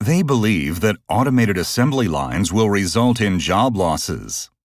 They believe that automated assembly lines will result in job losses.